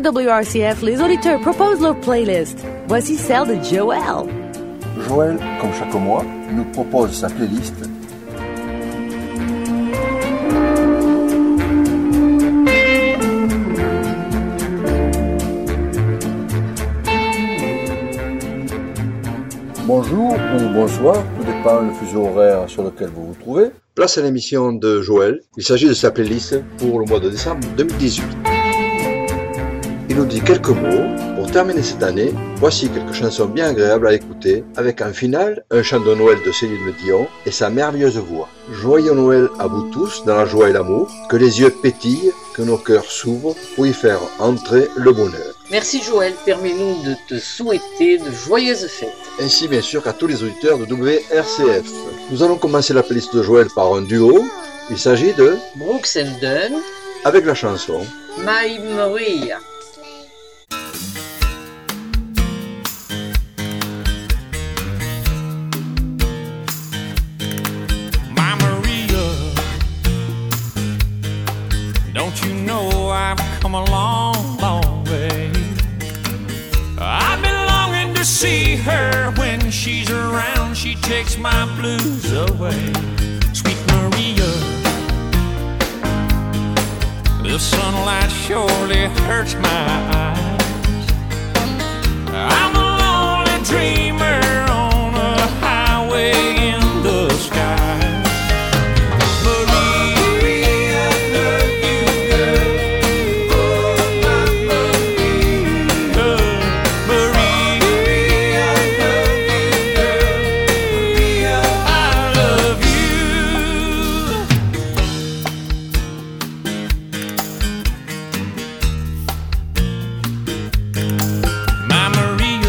WRCF, les auditeurs proposent leur playlist. Voici celle de Joël. Joël, comme chaque mois, nous propose sa playlist. Bonjour ou bonsoir, tout dépend le fuseau horaire sur lequel vous vous trouvez. Place à l'émission de Joël. Il s'agit de sa playlist pour le mois de décembre 2018. Il nous dit quelques mots. Pour terminer cette année, voici quelques chansons bien agréables à écouter, avec en finale un chant de Noël de Céline Dion et sa merveilleuse voix. Joyeux Noël à vous tous, dans la joie et l'amour, que les yeux pétillent, que nos cœurs s'ouvrent pour y faire entrer le bonheur. Merci Joël, permets-nous de te souhaiter de joyeuses fêtes. Ainsi bien sûr qu'à tous les auditeurs de WRCF. Nous allons commencer la playlist de Joël par un duo. Il s'agit de Brooks and Dunn avec la chanson My Maria. My Maria, don't you know I've come a long, long way. I've been longing to see her. When she's around, she takes my blues away. Sweet Maria, the sunlight surely hurts my eyes. I'm a lonely dreamer on a highway in the sky. Maria, love you, girl. Oh, my Maria. Maria, love you, girl. Maria, I love you. My Maria,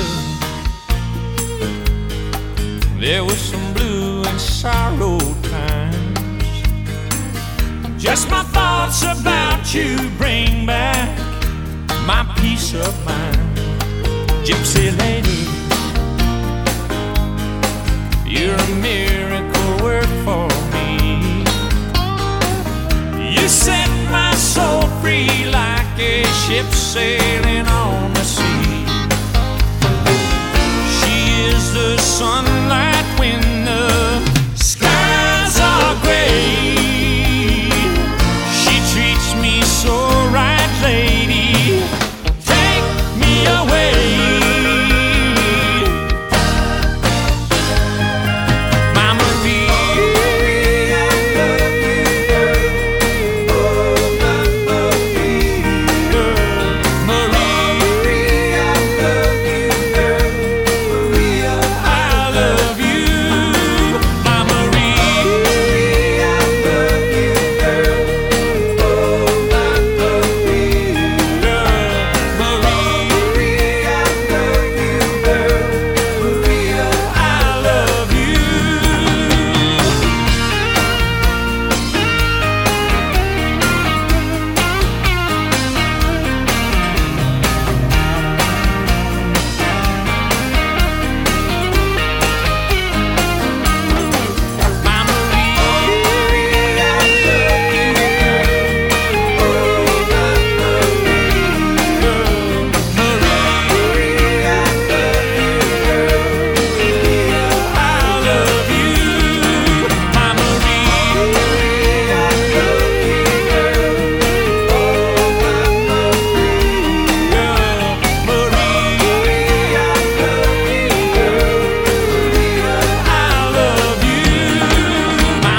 there was some blue and sorrow times. Just my thoughts about you bring back my peace of mind. Gypsy lady, you're a miracle work for me. You set my soul free like a ship sailing on the sea. She is the sunlight when the skies are gray. She treats me so right, lady. Take me away. My Maria, love you, girl. Oh, my Maria. Maria, love you, girl. Maria, I love you. My Maria, love you, girl. Oh, my Maria. Maria, love you, girl. Maria, I love you. My Maria, love you, girl. Oh, my Maria. Maria, love you, girl. Maria, I love you. My Maria, love you, girl. Oh, my Maria. Maria, love you, girl. Maria, I love you. My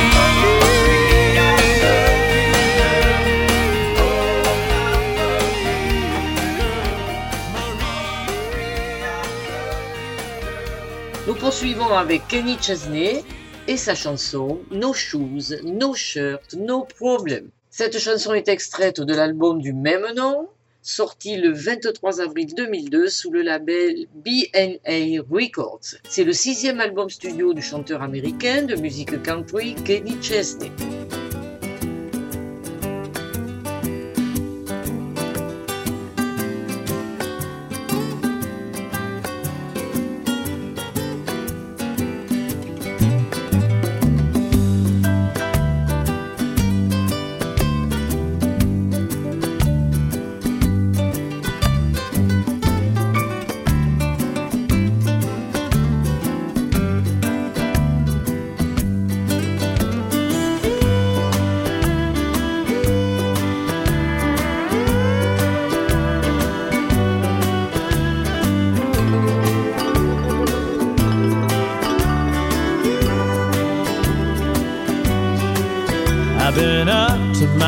Nous poursuivons avec Kenny Chesney et sa chanson No Shoes, No Shirt, No Problem. Cette chanson est extraite de l'album du même nom, sorti le 23 avril 2002 sous le label B&A Records. C'est le 6e album studio du chanteur américain de musique country Kenny Chesney.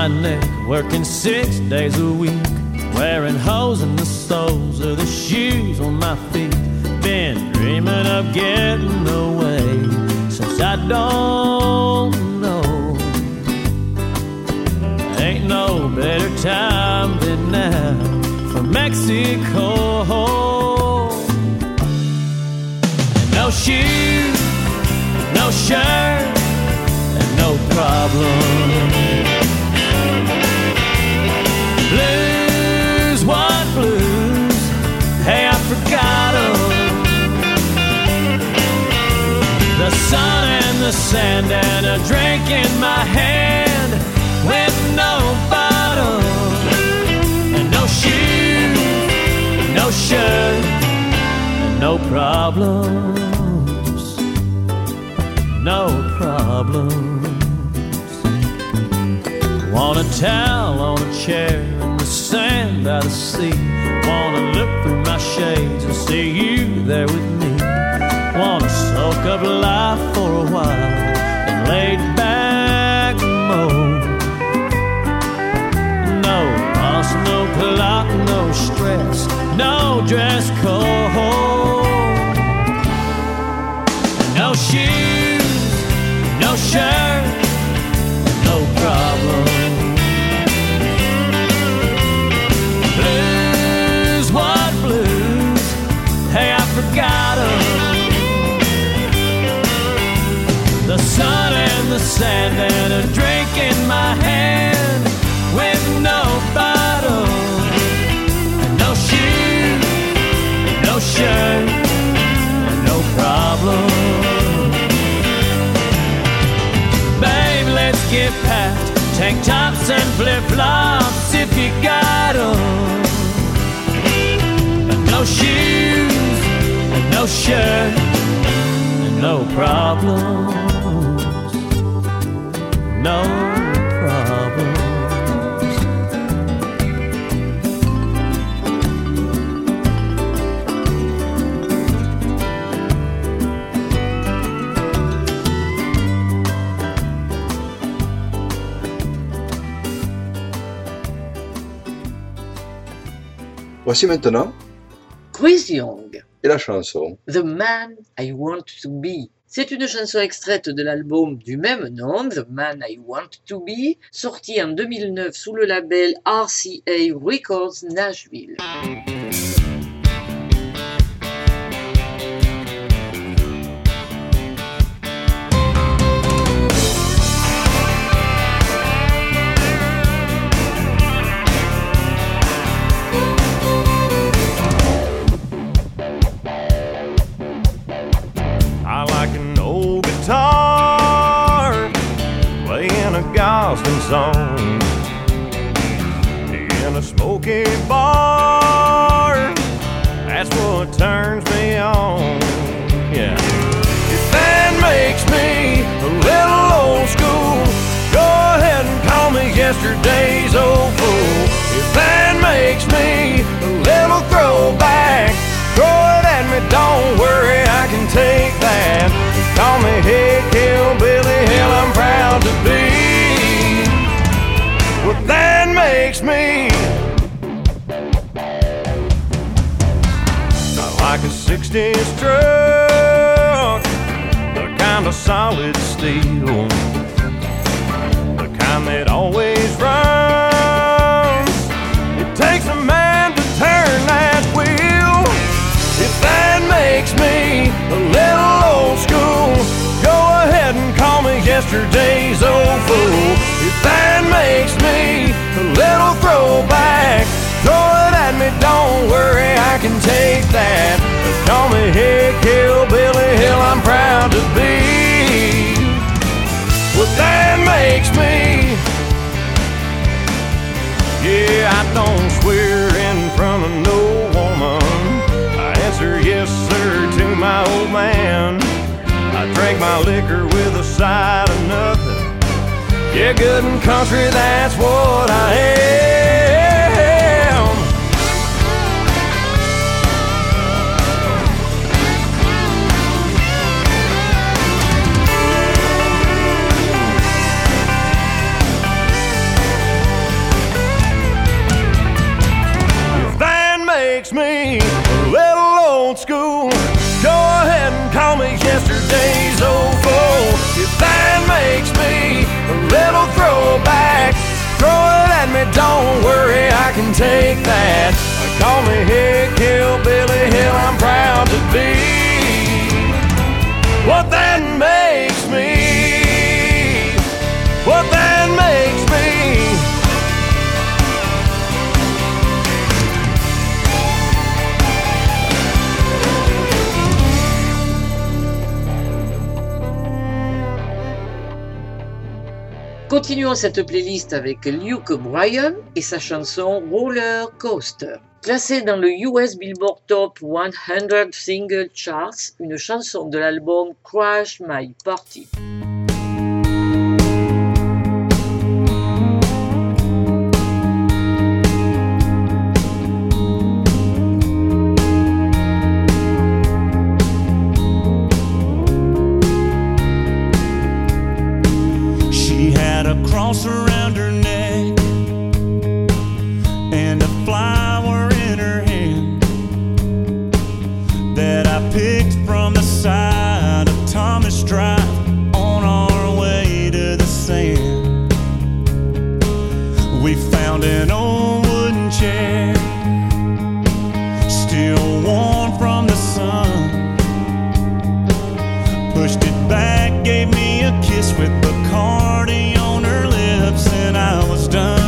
my neck, working 6 days a week, wearing holes in the soles of the shoes on my feet. Been dreaming of getting away since I don't know. Ain't no better time than now for Mexico. And no shoes, no shirt, and no problem. Blues, what blues? Hey, I forgot 'em. The sun and the sand and a drink in my hand with no bottle and no shoes, no shirt, and no problems, no problems. Want a towel on a chair in the sand by the sea. Wanna look through my shades and see you there with me. Wanna soak up life for a while and lay back mode. No boss, no clock, no stress, no dress code. No shoes, no shirt, no problem. Blues, what blues? Hey, I forgot 'em. The sun and the sand and a drink in my hand with no bottle and no shoes, no shirt, and no problem. Babe, let's get packed, tank tops and flip-flops if you got 'em. And no shoes, and no shirt, and no problem. No problems. Voici maintenant Chris Young, et la chanson The Man I Want to Be. C'est une chanson extraite de l'album du même nom, The Man I Want to Be, sorti en 2009 sous le label RCA Records Nashville. Guitar, playing a gospel song in a smoky bar. That's what turns me on. Yeah. If that makes me a little old school, go ahead and call me yesterday's old fool. If that makes me a little throwback, throw it at me, don't worry, I can take that. Call me Hey Hillbilly, hell I'm proud to be. Well, that makes me. I like a 60s truck, the kind of solid steel, the kind that always runs. It takes a man to turn that wheel. If that makes me a little old school, go ahead and call me yesterday's old fool. If that makes me a little throwback, throw it at me, don't worry, I can take that. Call me Hick Hillbilly, hell I'm proud to be. Well, that makes me. Yeah, I don't swear in front of no woman. Answer yes sir to my old man. I drank my liquor with a side of nothing. Yeah, good and country, that's what I am. me, don't worry, I can take that. Call me Hick Hillbilly, hell, I'm proud to be what that makes me, what that makes me. Continuons cette playlist avec Luke Bryan et sa chanson Roller Coaster. Classée dans le US Billboard Top 100 Single Charts, une chanson de l'album Crash My Party. Cross around her neck and a flower in her hand that I picked from the side of Thomas Drive on our way to the sand. We found an old wooden chair, still warm from the sun, pushed it back, gave me a kiss with Bacardi on her lips, and I was done.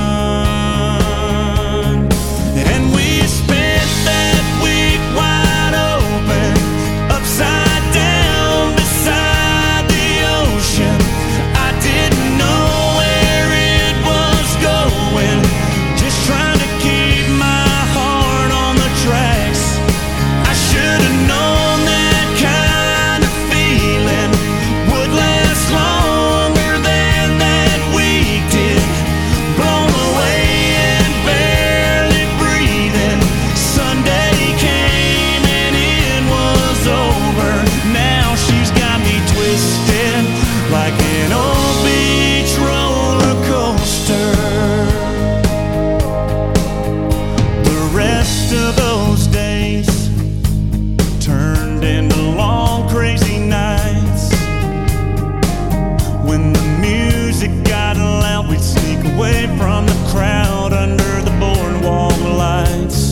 And we spent that week wide open, upside down beside the ocean. I didn't know where it was going, just trying to keep my heart on the tracks. I should have known that kind of feeling would last longer than that week did. Blown away and barely breathing. Sunday came and it was over. Now she's got me twisted like an old beach roller coaster. The rest of those days turned into long crazy nights. When the music got loud, we'd sneak away from the crowd under the boardwalk lights.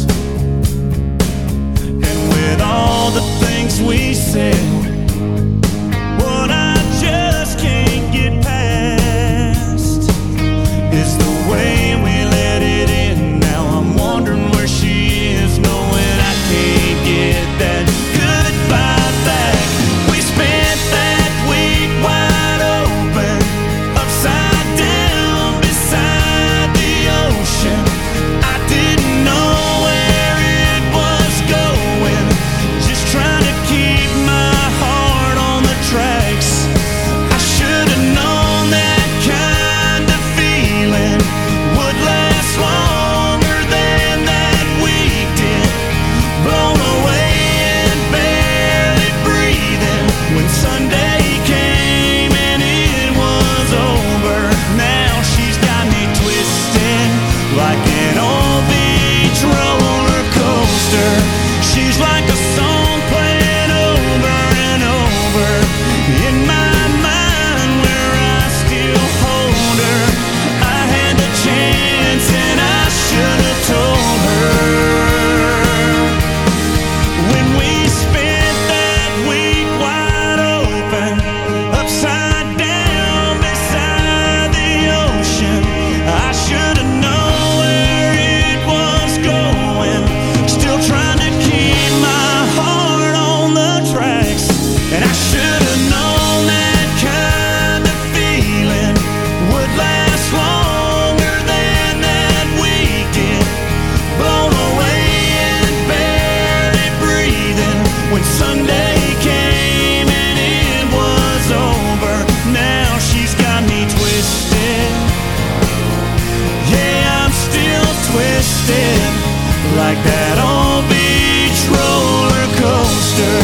And with all the things we said, what I just can't get past is the way we let it in. Now I'm wondering where she is, knowing I can't get that goodbye back. We spent that week wide open, upside down beside the ocean. I didn't know where it was going, just trying to keep my heart on the tracks. I should have known that kind of feeling would last longer than that week did. Blown away and barely breathing when Sunday came and it was over. Now she's got me twisted like an old beach roller coaster. She's like a song playing over and over in my mind, where I still hold her. I had the chance and I should have told her. When we spent that week wide open, upside down beside the ocean, I should have known where it was going, still trying to keep my heart on the tracks. And I should have known that kind of feeling would last longer than that week did. Blown away and barely breathing when Sunday came and it was over. Now she's got me twisted. Yeah, I'm still twisted like that old beach roller coaster.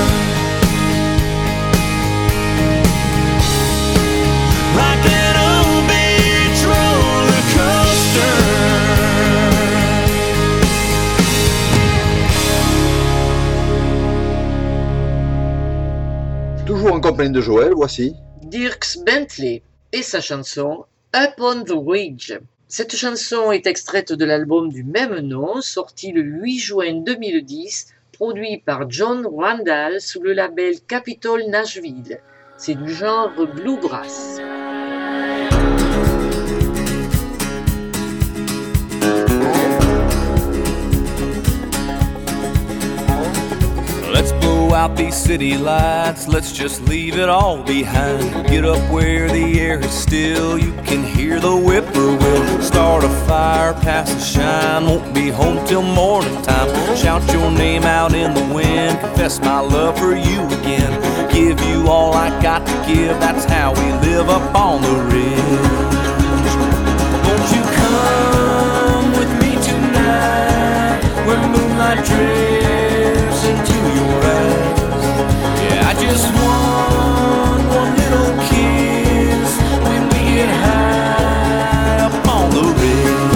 Like that old beach roller coaster. Toujours en compagnie de Joël, voici Dierks Bentley et sa chanson Up on the Ridge. Cette chanson est extraite de l'album du même nom, sorti le 8 juin 2010, produit par John Randall sous le label Capitol Nashville. C'est du genre bluegrass. Let's blow out these city lights, let's just leave it all behind. Get up where the air is still, you can hear the whippoorwill. Start a fire, pass the shine, won't be home till morning time. Shout your name out in the wind, confess my love for you again. Give you all I got to give, that's how we live up on the ridge. Won't you come with me tonight, where moonlight drifts into your eyes? Yeah, I just want one little kiss when we get high up on the ridge.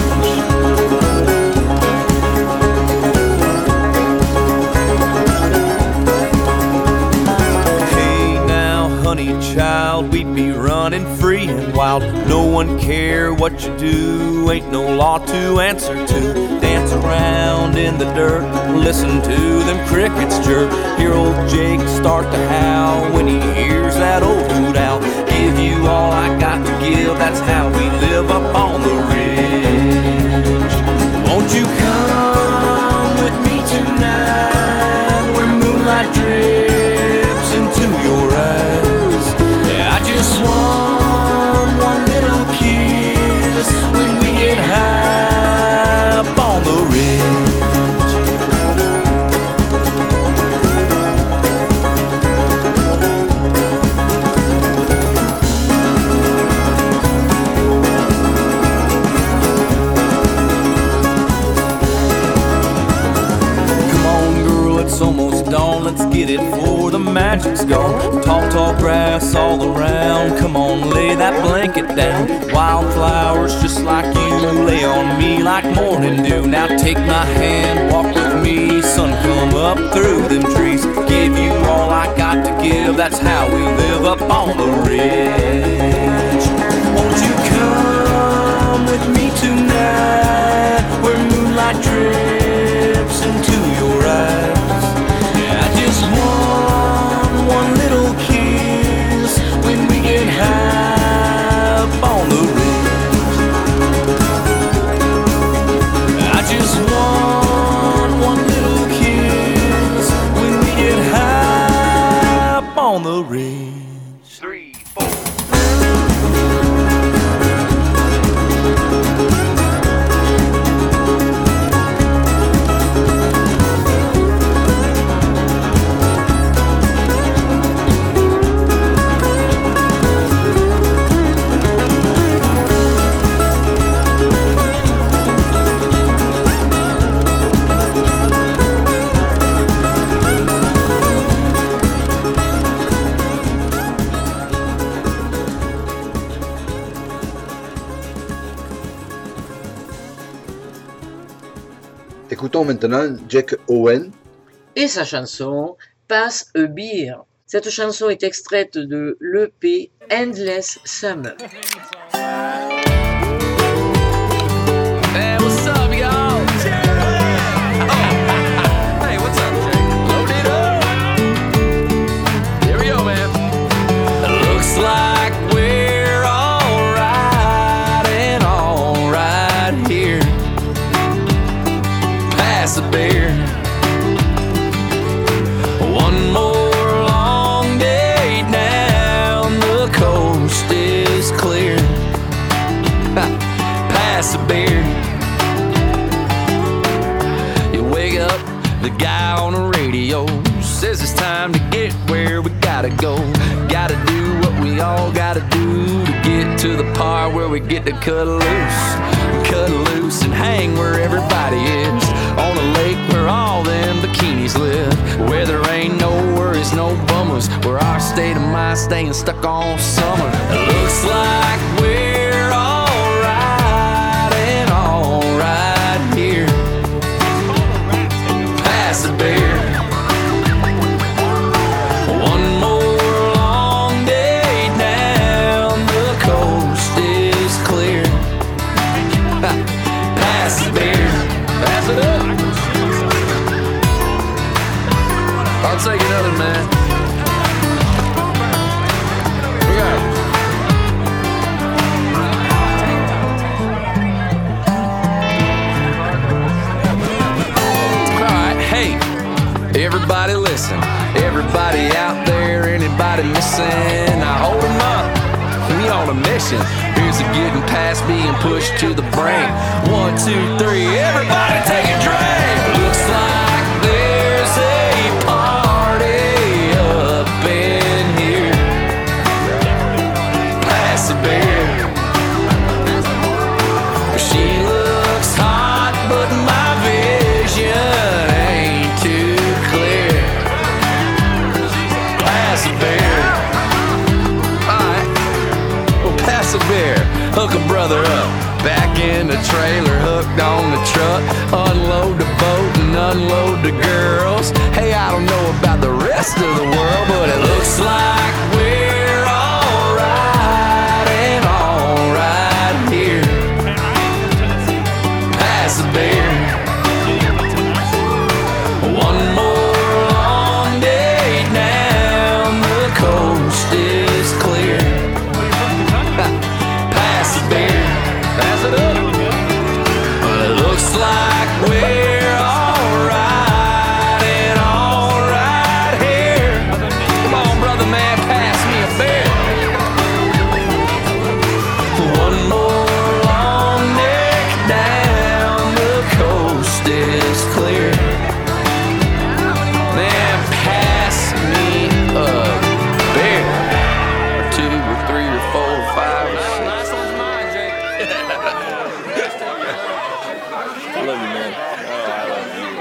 Hey now, honey child, we'd be running free and wild. No one care what you do, ain't no law to answer to. Dance around in the dirt, listen to them crickets chirp. Hear old Jake start to howl when he hears that old hoot owl. Give you all I got to give, that's how we live up on the ridge. Won't you come with me tonight, where moonlight drips into your eyes? Yeah, I just want one little kiss when we get high up on the ridge. It's almost dawn, let's get it before the magic's gone. Tall, tall grass all around, come on, lay that blanket down. Wildflowers just like you, lay on me like morning dew. Now take my hand, walk with me, sun come up through them trees. Give you all I got to give, that's how we live up on the ridge. Won't you come with me tonight, where moonlight drips into your eyes? One little kiss when we get high up on the ridge. I just want one little kiss when we get high up on the ridge. 3, 4. Écoutons maintenant Jack Owen et sa chanson Pass a Beer. Cette chanson est extraite de l'EP Endless Summer. Hey, what's up, y'all? Hey, what's up, Jake? Load it up. Here we go, man. Looks like we're all right here. Pass a beer. One more long day down the coast is clear. Pass a beer. You wake up, the guy on the radio says it's time to get where we gotta go. Gotta do what we all gotta do to get to the part where we get to cut loose and hang where everybody is. On a lake where all them bikinis live, where there ain't no worries, no bummers, where our state of mind staying stuck on summer. It looks like we're all right here. Pass the beer. One more long day down the coast is clear. anybody missing, I hold them up. We on a mission. Here's a getting past being pushed to the brink. 1, 2, 3, everybody take a drink. Looks like there's a party up in here. Pass a beer. She looks hot, but my vision ain't too clear. Pass a beer. Alright, well, pass a beer. Hook a brother up. Back in the trailer, hooked on the truck. Unload the boat and unload the girls. Hey, I don't know about the rest of the world, but it looks like we're alright and alright here. Pass a beer. One more long day down, the coast is clear. Pass a beer. Pass it up. Well, it looks like we're alright and alright here. Come on, brother man, pass me a beer. One more long neck down, the coast is clear. Man, pass me a beer. Or 2 or 3 or 4 or 5 or 6. Last one's mine, Jake. I love you, man. Oh, I love you,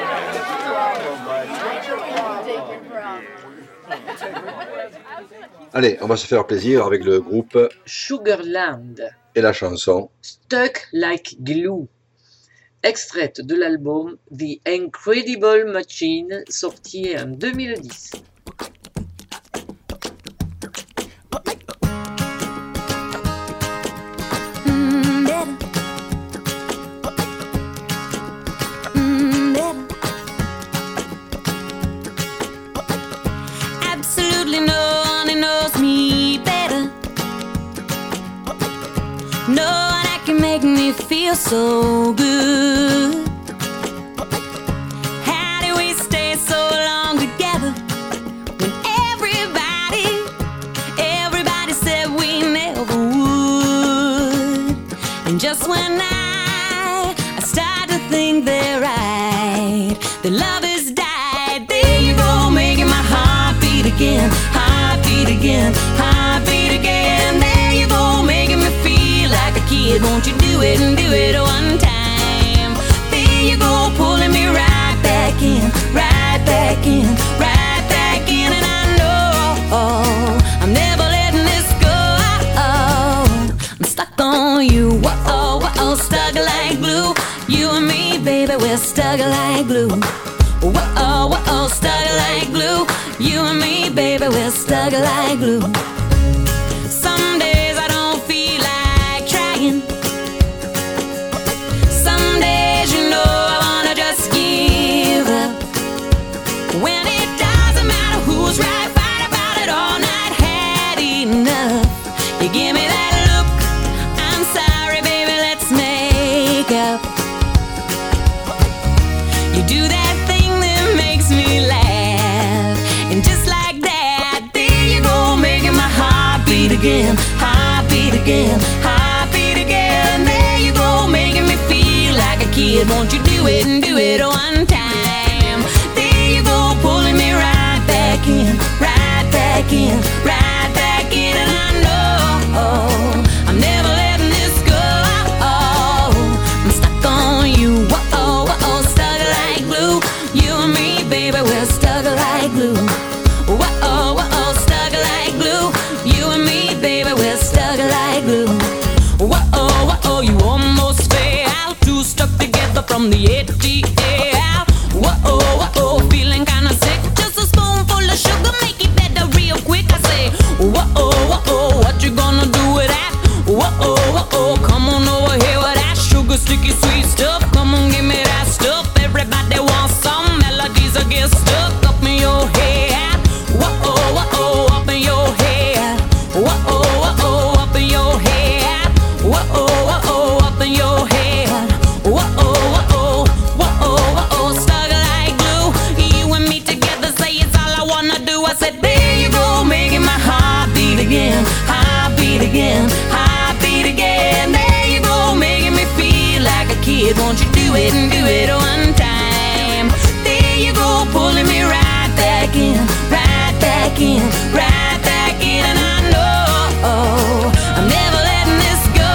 man. Allez, on va se faire plaisir avec le groupe Sugarland, et la chanson. Stuck Like Glue, extraite de l'album The Incredible Machine, sorti en 2010. Absolutely no one knows me better. No one that can make me feel so good. How do we stay so long together when everybody said we never would? And just when I start to think they're right, the love has died. There you go, making my heart beat again, heart beat again, heart beat again. There you go, making me feel like a kid. Won't you do it and do it one time? There you go, pulling me right back in, right back in, right back in. And I know I'm never letting this go. I'm stuck on you, whoa, whoa, stuck like glue. You and me, baby, we're stuck like glue. Whoa, whoa, stuck like glue. You and me, baby, we're stuck like glue. Some days I don't feel like trying. Some days, you know, I wanna just give up. When it doesn't matter who's right, fight about it all night, had enough. You give me that look, I'm sorry, baby, let's make up. You do that thing that makes me laugh, and just like that, there you go, making my heart beat again, heart beat again, heart beat again. There you go, making me feel like a kid. Won't you do it and do it one time? There you go, pulling me right back in, right back in, right back in. And I know I'm never letting this go. I'm stuck on you, whoa, whoa, stuck like glue. You and me, baby, we're stuck like glue. Whoa, whoa, stuck like glue. You and me, baby, we're stuck like glue. Whoa, whoa, you almost fell. Two stuck together from the ATL. Whoa, whoa, feeling kinda sick. Just a spoonful of sugar, make it better real quick. I say, again, heartbeat again. There you go, making me feel like a kid. Won't you do it and do it one time? There you go, pulling me right back in, right back in, right back in. And I know I'm never letting this go.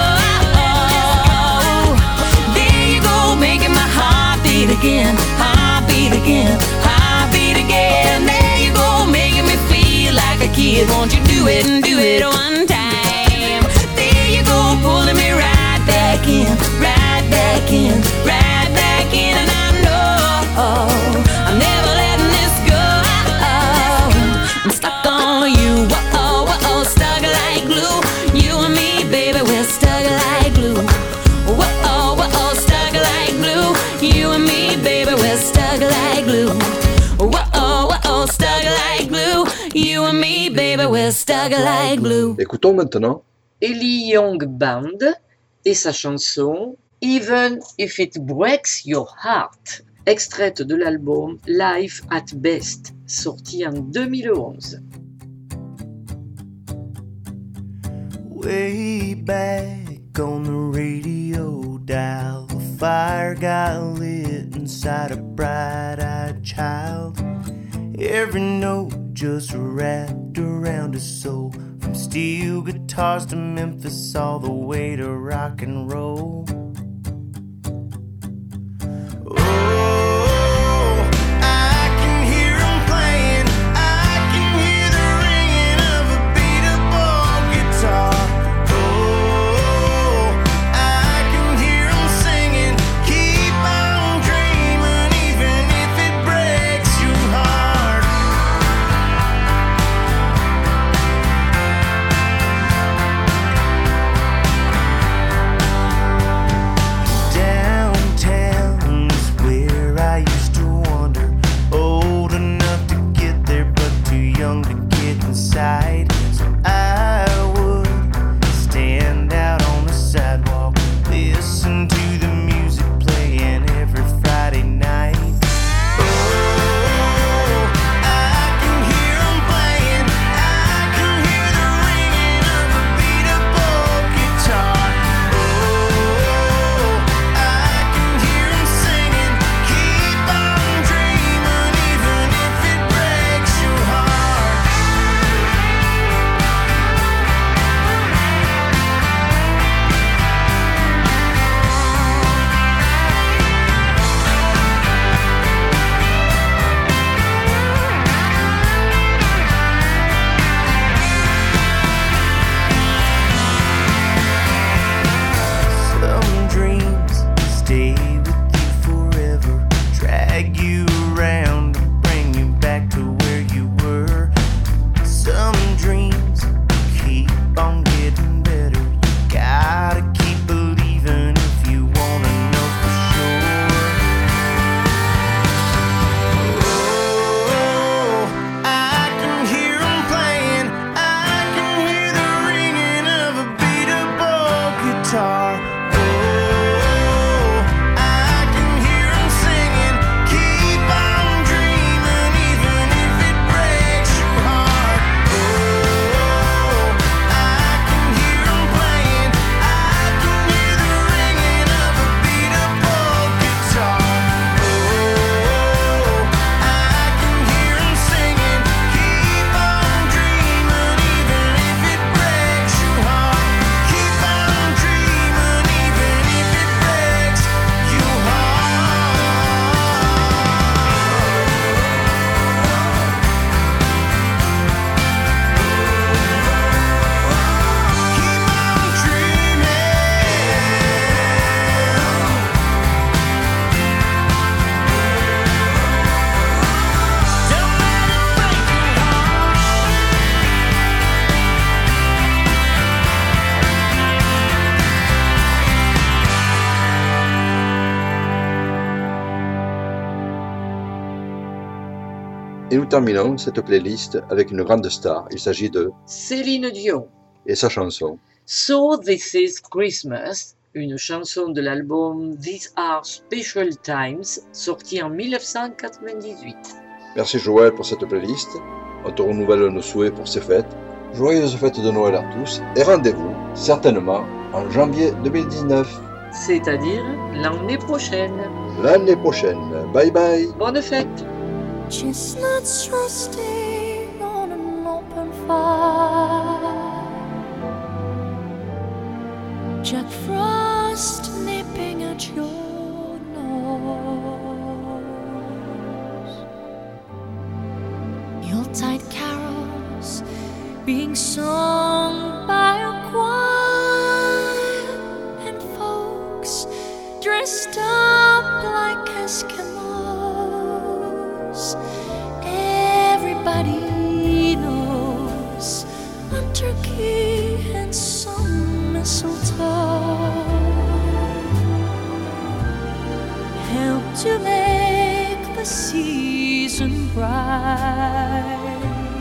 There you go, making my heart beat again, heartbeat again, heartbeat again. There you go, making me feel like a kid. Won't you do it and do it one time? There you go, pulling me right back in, right back in, right back in. And I know I'm never letting this go. I'm stuck on you, whoa, whoa, stuck like glue. You and me, baby, we're stuck like glue. Whoa, whoa, stuck like glue. You and me, baby, we're stuck like glue. Whoa, whoa, stuck like glue. You and me, baby, we're stuck like glue. Écoutons maintenant Ellie Young Band et sa chanson Even If It Breaks Your Heart, extraite de l'album Life at Best, sorti en 2011. Way back on the radio dial, a fire got lit inside a bright-eyed child. Every note just wrapped around his soul, from steel guitars to Memphis all the way to rock and roll. Et nous terminons cette playlist avec une grande star. Il s'agit de Céline Dion et sa chanson So This Is Christmas, une chanson de l'album These Are Special Times, sorti en 1998. Merci Joël pour cette playlist. On te renouvelle nos souhaits pour ces fêtes. joyeuses fêtes de Noël à tous et rendez-vous certainement en janvier 2019. C'est-à-dire l'année prochaine. L'année prochaine. Bye bye. Bonne fête. Chestnuts roasting on an open fire. Jack Frost nipping at your nose. Yuletide carols being sung by a choir, and folks dressed up like Eskimos. Everybody knows a turkey and some mistletoe help to make the season bright.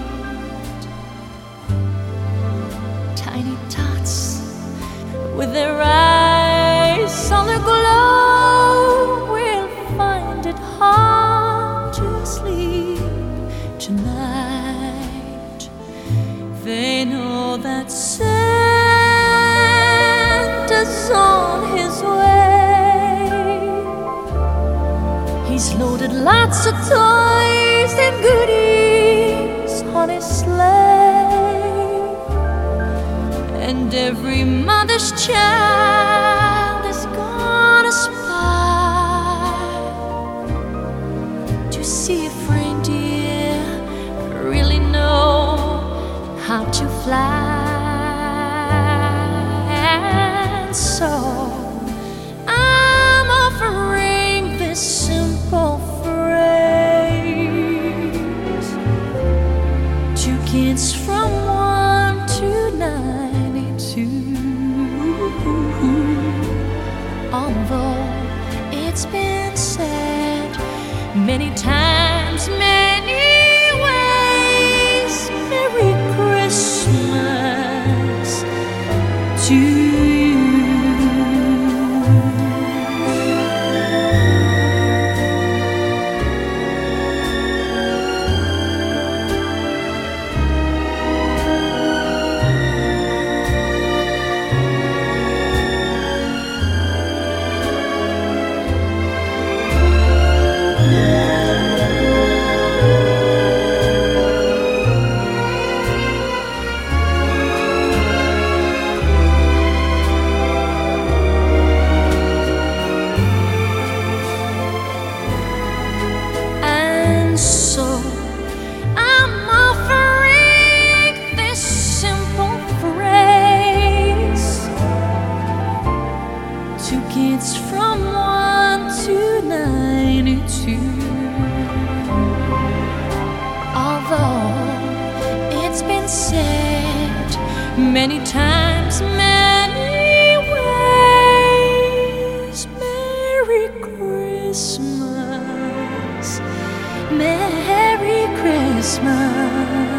Tiny tots with their eyes on the glow will find it hard to sleep tonight. They know that Santa's on his way. He's loaded lots of toys and goodies on his sleigh, and every mother's child is gonna spy to see if reindeer really know how to fly. And so I'm offering this simple phrase to kids from 1 to 92. Although it's been said many times, many ways, Merry Christmas to you. And so I'm offering this simple phrase to kids from 1 to 92. Although it's been said many times, many ways, Merry Christmas, Merry Christmas.